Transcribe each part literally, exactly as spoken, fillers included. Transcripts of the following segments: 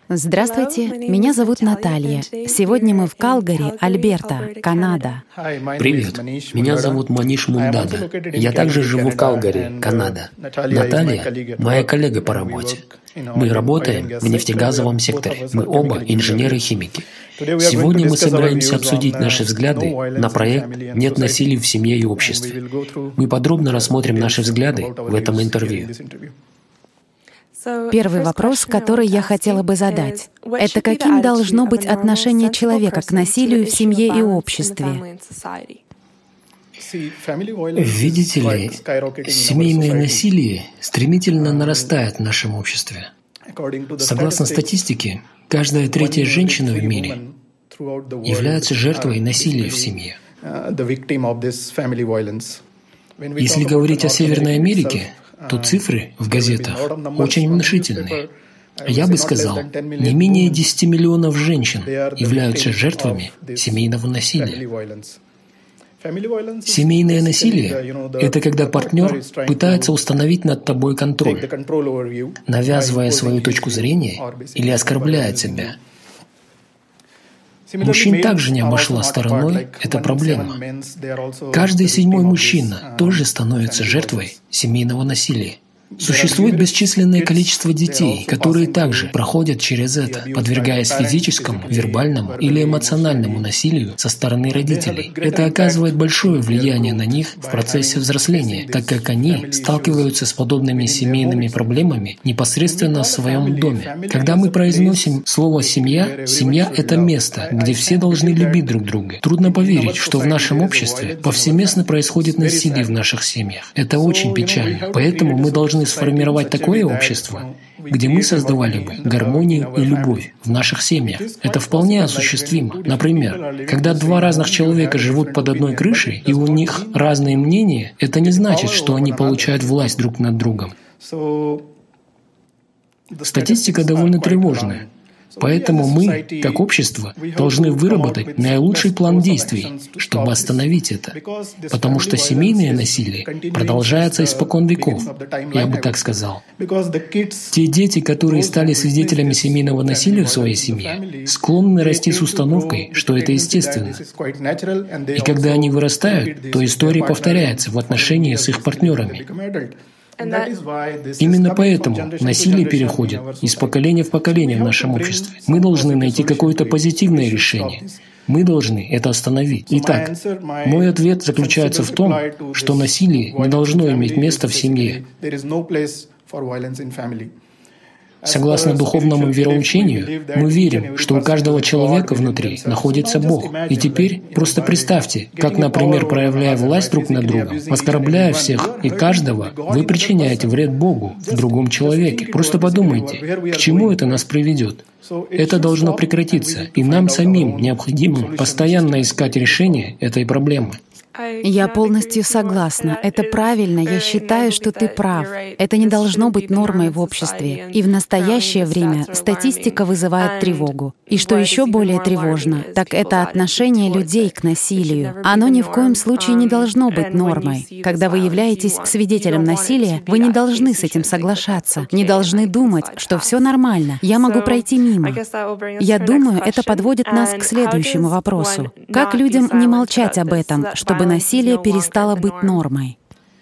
Здравствуйте, меня зовут Наталья. Сегодня мы в Калгари, Альберта, Канада. Привет, меня зовут Маниш Мундада. Я также живу в Калгари, Канада. Наталья – моя коллега по работе. Мы работаем в нефтегазовом секторе. Мы оба инженеры-химики. Сегодня мы собираемся обсудить наши взгляды на проект «Нет насилия в семье и обществе». Мы подробно рассмотрим наши взгляды в этом интервью. Первый вопрос, который я хотела бы задать, это каким должно быть отношение человека к насилию в семье и обществе? Видите ли, семейное насилие стремительно нарастает в нашем обществе. Согласно статистике, каждая третья женщина в мире является жертвой насилия в семье. Если говорить о Северной Америке, то цифры в газетах очень внушительные. Я бы сказал, не менее десяти миллионов женщин являются жертвами семейного насилия. Семейное насилие – это когда партнер пытается установить над тобой контроль, навязывая свою точку зрения или оскорбляет себя. Мужчин также не обошла стороной эта проблема. Каждый седьмой мужчина тоже становится жертвой семейного насилия. Существует бесчисленное количество детей, которые также проходят через это, подвергаясь физическому, вербальному или эмоциональному насилию со стороны родителей. Это оказывает большое влияние на них в процессе взросления, так как они сталкиваются с подобными семейными проблемами непосредственно в своем доме. Когда мы произносим слово «семья», семья – это место, где все должны любить друг друга. Трудно поверить, что в нашем обществе повсеместно происходит насилие в наших семьях. Это очень печально. Поэтому мы должны сформировать такое общество, где мы создавали бы гармонию и любовь в наших семьях. Это вполне осуществимо. Например, когда два разных человека живут под одной крышей, и у них разные мнения, это не значит, что они получают власть друг над другом. Статистика довольно тревожная. Поэтому мы, как общество, должны выработать наилучший план действий, чтобы остановить это. Потому что семейное насилие продолжается испокон веков, я бы так сказал. Те дети, которые стали свидетелями семейного насилия в своей семье, склонны расти с установкой, что это естественно. И когда они вырастают, то история повторяется в отношении с их партнерами. Именно поэтому насилие переходит из поколения в поколение в нашем обществе. Мы должны найти какое-то позитивное решение. Мы должны это остановить. Итак, мой ответ заключается в том, что насилие не должно иметь места в семье. Согласно духовному вероучению, мы верим, что у каждого человека внутри находится Бог. И теперь просто представьте, как, например, проявляя власть друг над другом, оскорбляя всех и каждого, вы причиняете вред Богу в другом человеке. Просто подумайте, к чему это нас приведет. Это должно прекратиться, и нам самим необходимо постоянно искать решение этой проблемы. Я полностью согласна. Это правильно. Я считаю, что ты прав. Это не должно быть нормой в обществе. И в настоящее время статистика вызывает тревогу. И что еще более тревожно, так это отношение людей к насилию. Оно ни в коем случае не должно быть нормой. Когда вы являетесь свидетелем насилия, вы не должны с этим соглашаться. Не должны думать, что все нормально. Я могу пройти мимо. Я думаю, это подводит нас к следующему вопросу. Как людям не молчать об этом, чтобы насилие перестало быть нормой?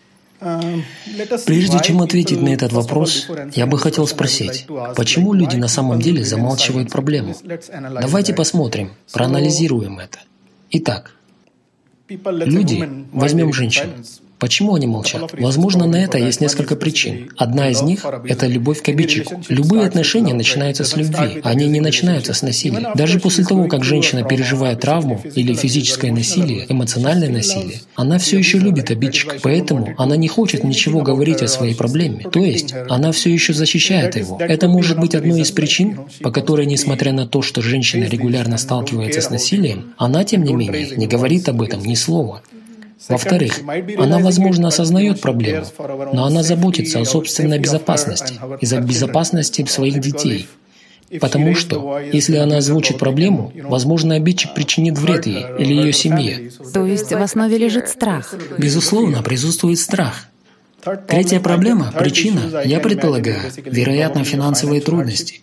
Прежде чем ответить на этот вопрос, я бы хотел спросить, почему люди на самом деле замалчивают проблему? Давайте посмотрим, проанализируем это. Итак, люди, возьмем женщин. Почему они молчат? Возможно, на это есть несколько причин. Одна из них – это любовь к обидчику. Любые отношения начинаются с любви, они не начинаются с насилия. Даже после того, как женщина переживает травму или физическое насилие, эмоциональное насилие, она все еще любит обидчика, поэтому она не хочет ничего говорить о своей проблеме. То есть, она все еще защищает его. Это может быть одной из причин, по которой, несмотря на то, что женщина регулярно сталкивается с насилием, она, тем не менее, не говорит об этом ни слова. Во-вторых, она, возможно, осознает проблему, но она заботится о собственной безопасности из-за безопасности своих детей. Потому что, если она озвучит проблему, возможно, обидчик причинит вред ей или ее семье. То есть в основе лежит страх? Безусловно, присутствует страх. Третья проблема, причина, я предполагаю, вероятно, финансовые трудности.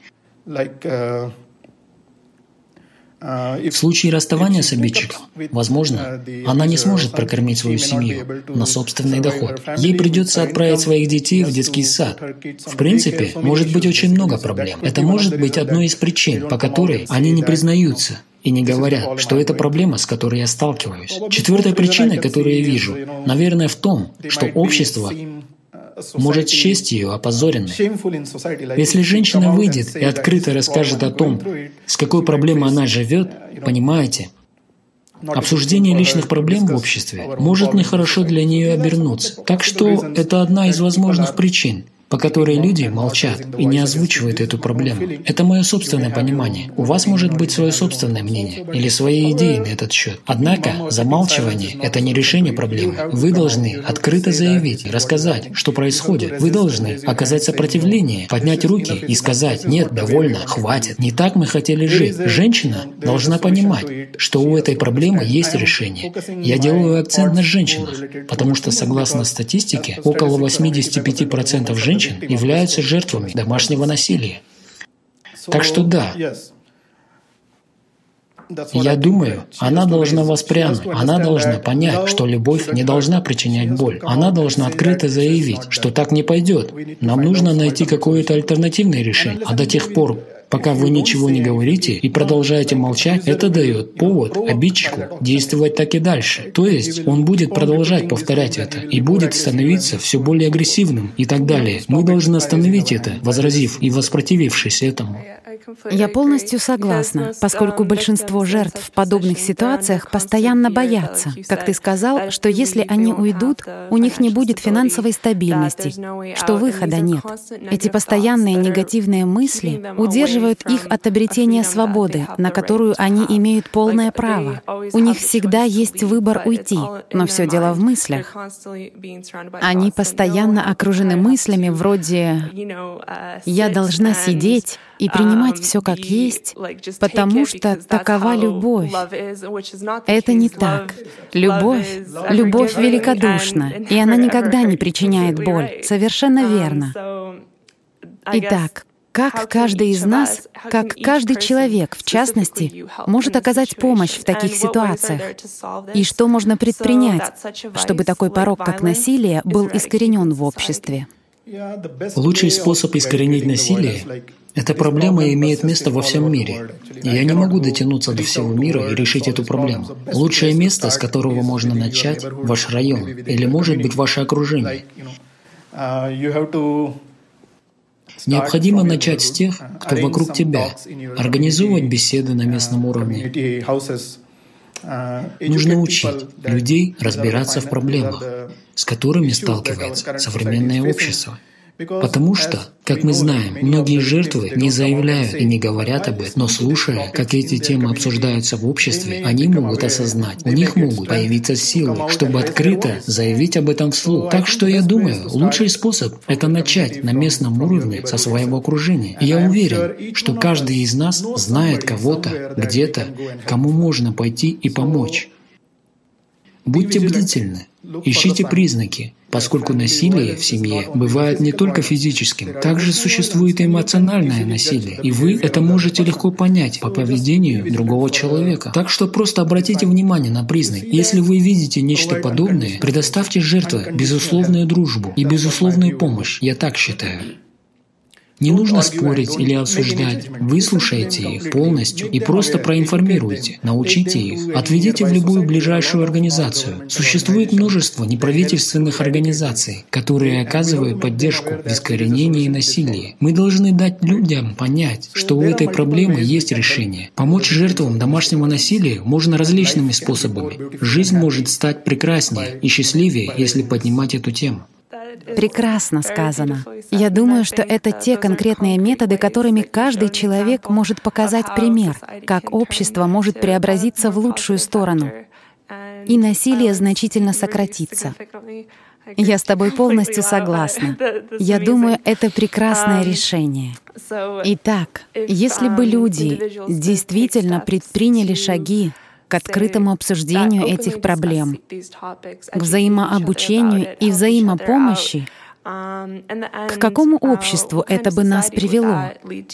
В случае расставания с обидчиком, возможно, она не сможет прокормить свою семью на собственный доход. Ей придется отправить своих детей в детский сад. В принципе, может быть очень много проблем. Это может быть одной из причин, по которой они не признаются и не говорят, что это проблема, с которой я сталкиваюсь. Четвертая причина, которую я вижу, наверное, в том, что общество может счесть ее опозоренной. Если женщина выйдет и открыто расскажет о том, с какой проблемой она живет, понимаете, обсуждение личных проблем в обществе может нехорошо для нее обернуться. Так что это одна из возможных причин, по которой люди молчат и не озвучивают эту проблему. Это мое собственное понимание. У вас может быть свое собственное мнение или свои идеи на этот счет. Однако замалчивание — это не решение проблемы. Вы должны открыто заявить, рассказать, что происходит. Вы должны оказать сопротивление, поднять руки и сказать: «Нет, довольно, хватит. Не так мы хотели жить». Женщина должна понимать, что у этой проблемы есть решение. Я делаю акцент на женщинах, потому что, согласно статистике, около восемьдесят пять процентов женщин являются жертвами домашнего насилия. Так что да, я думаю, она должна воспрянуть, она должна понять, что любовь не должна причинять боль. Она должна открыто заявить, что так не пойдет. Нам нужно найти какое-то альтернативное решение. А до тех пор, пока вы ничего не говорите и продолжаете молчать, это дает повод обидчику действовать так и дальше. То есть он будет продолжать повторять это и будет становиться все более агрессивным и так далее. Мы должны остановить это, возразив и воспротивившись этому. Я полностью согласна, поскольку большинство жертв в подобных ситуациях постоянно боятся, как ты сказал, что если они уйдут, у них не будет финансовой стабильности, что выхода нет. Эти постоянные негативные мысли удерживают их от обретения свободы, на которую они имеют полное право. У них всегда есть выбор уйти, но все дело в мыслях. Они постоянно окружены мыслями вроде «я должна сидеть и принимать все как есть, потому что такова любовь». Это не так. Любовь, любовь великодушна, и она никогда не причиняет боль. Совершенно верно. Итак, как каждый из нас, как каждый человек, в частности, может оказать помощь в таких ситуациях? И что можно предпринять, чтобы такой порок, как насилие, был искоренен в обществе? Лучший способ искоренить насилие — эта проблема имеет место во всем мире. Я не могу дотянуться до всего мира и решить эту проблему. Лучшее место, с которого можно начать — ваш район, или, может быть, ваше окружение. Необходимо начать с тех, кто вокруг тебя, организовывать беседы на местном уровне. Нужно учить людей разбираться в проблемах, с которыми сталкивается современное общество. Потому что, как мы знаем, многие жертвы не заявляют и не говорят об этом, но слушая, как эти темы обсуждаются в обществе, они могут осознать, у них могут появиться силы, чтобы открыто заявить об этом вслух. Так что я думаю, лучший способ — это начать на местном уровне со своего окружения. И я уверен, что каждый из нас знает кого-то, где-то, кому можно пойти и помочь. Будьте бдительны, ищите признаки, поскольку насилие в семье бывает не только физическим, также существует и эмоциональное насилие, и вы это можете легко понять по поведению другого человека. Так что просто обратите внимание на признаки. Если вы видите нечто подобное, предоставьте жертве безусловную дружбу и безусловную помощь, я так считаю. Не нужно спорить или осуждать. Выслушайте их полностью и просто проинформируйте, научите их, отведите в любую ближайшую организацию. Существует множество неправительственных организаций, которые оказывают поддержку в искоренении насилия. Мы должны дать людям понять, что у этой проблемы есть решение. Помочь жертвам домашнего насилия можно различными способами. Жизнь может стать прекраснее и счастливее, если поднимать эту тему. Прекрасно сказано. Я думаю, что это те конкретные методы, которыми каждый человек может показать пример, как общество может преобразиться в лучшую сторону, и насилие значительно сократится. Я с тобой полностью согласна. Я думаю, это прекрасное решение. Итак, если бы люди действительно предприняли шаги к открытому обсуждению этих проблем, к взаимообучению и взаимопомощи, К какому обществу это бы нас привело?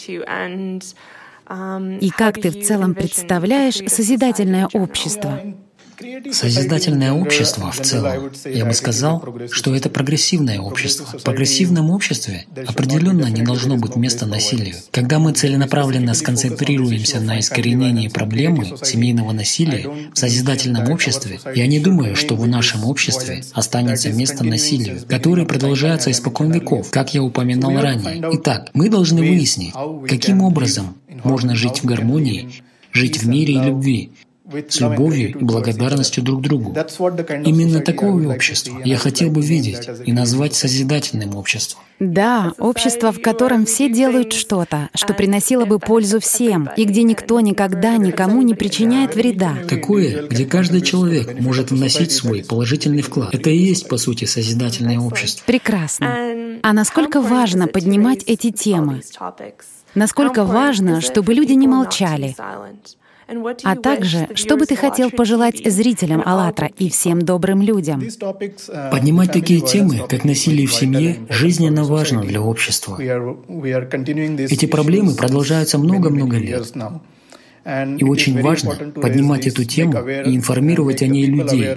И как ты в целом представляешь созидательное общество? Созидательное общество в целом, я бы сказал, что это прогрессивное общество. В прогрессивном обществе определенно не должно быть места насилию. Когда мы целенаправленно сконцентрируемся на искоренении проблемы семейного насилия в созидательном обществе, я не думаю, что в нашем обществе останется место насилию, которое продолжается испокон веков, как я упоминал ранее. Итак, мы должны выяснить, каким образом можно жить в гармонии, жить в мире и любви, с любовью и благодарностью друг другу. Именно такое общество я хотел бы видеть и назвать созидательным обществом. Да, общество, в котором все делают что-то, что приносило бы пользу всем, и где никто никогда никому не причиняет вреда. Такое, где каждый человек может вносить свой положительный вклад. Это и есть, по сути, созидательное общество. Прекрасно. А насколько важно поднимать эти темы? Насколько важно, чтобы люди не молчали? А также, что бы ты хотел пожелать зрителям АЛЛАТРА и всем добрым людям? Поднимать такие темы, как насилие в семье, жизненно важно для общества. Эти проблемы продолжаются много-много лет. И очень важно поднимать эту тему и информировать о ней людей.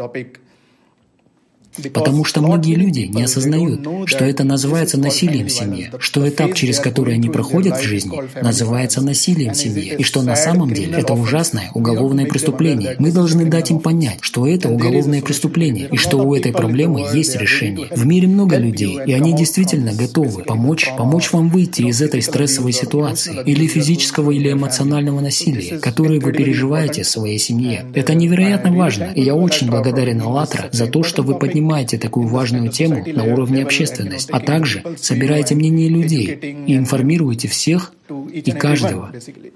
Потому что многие люди не осознают, что это называется насилием в семье, что этап, через который они проходят в жизни, называется насилием в семье, и что на самом деле это ужасное уголовное преступление. Мы должны дать им понять, что это уголовное преступление, и что у этой проблемы есть решение. В мире много людей, и они действительно готовы помочь, помочь вам выйти из этой стрессовой ситуации, или физического, или эмоционального насилия, которое вы переживаете в своей семье. Это невероятно важно, и я очень благодарен АЛЛАТРА за то, что вы поднимаете Поднимаете такую важную тему на уровне общественности, а также собираете мнение людей и информируете всех и каждого.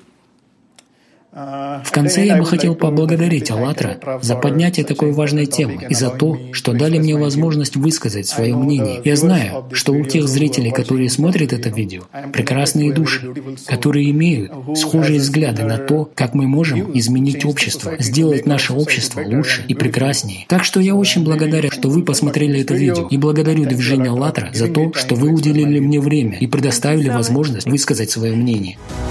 В конце я бы хотел поблагодарить АЛЛАТРА за поднятие такой важной темы и за то, что дали мне возможность высказать свое мнение. Я знаю, что у тех зрителей, которые смотрят это видео, прекрасные души, которые имеют схожие взгляды на то, как мы можем изменить общество, сделать наше общество лучше и прекраснее. Так что я очень благодарен, что вы посмотрели это видео, и благодарю движение АЛЛАТРА за то, что вы уделили мне время и предоставили возможность высказать свое мнение.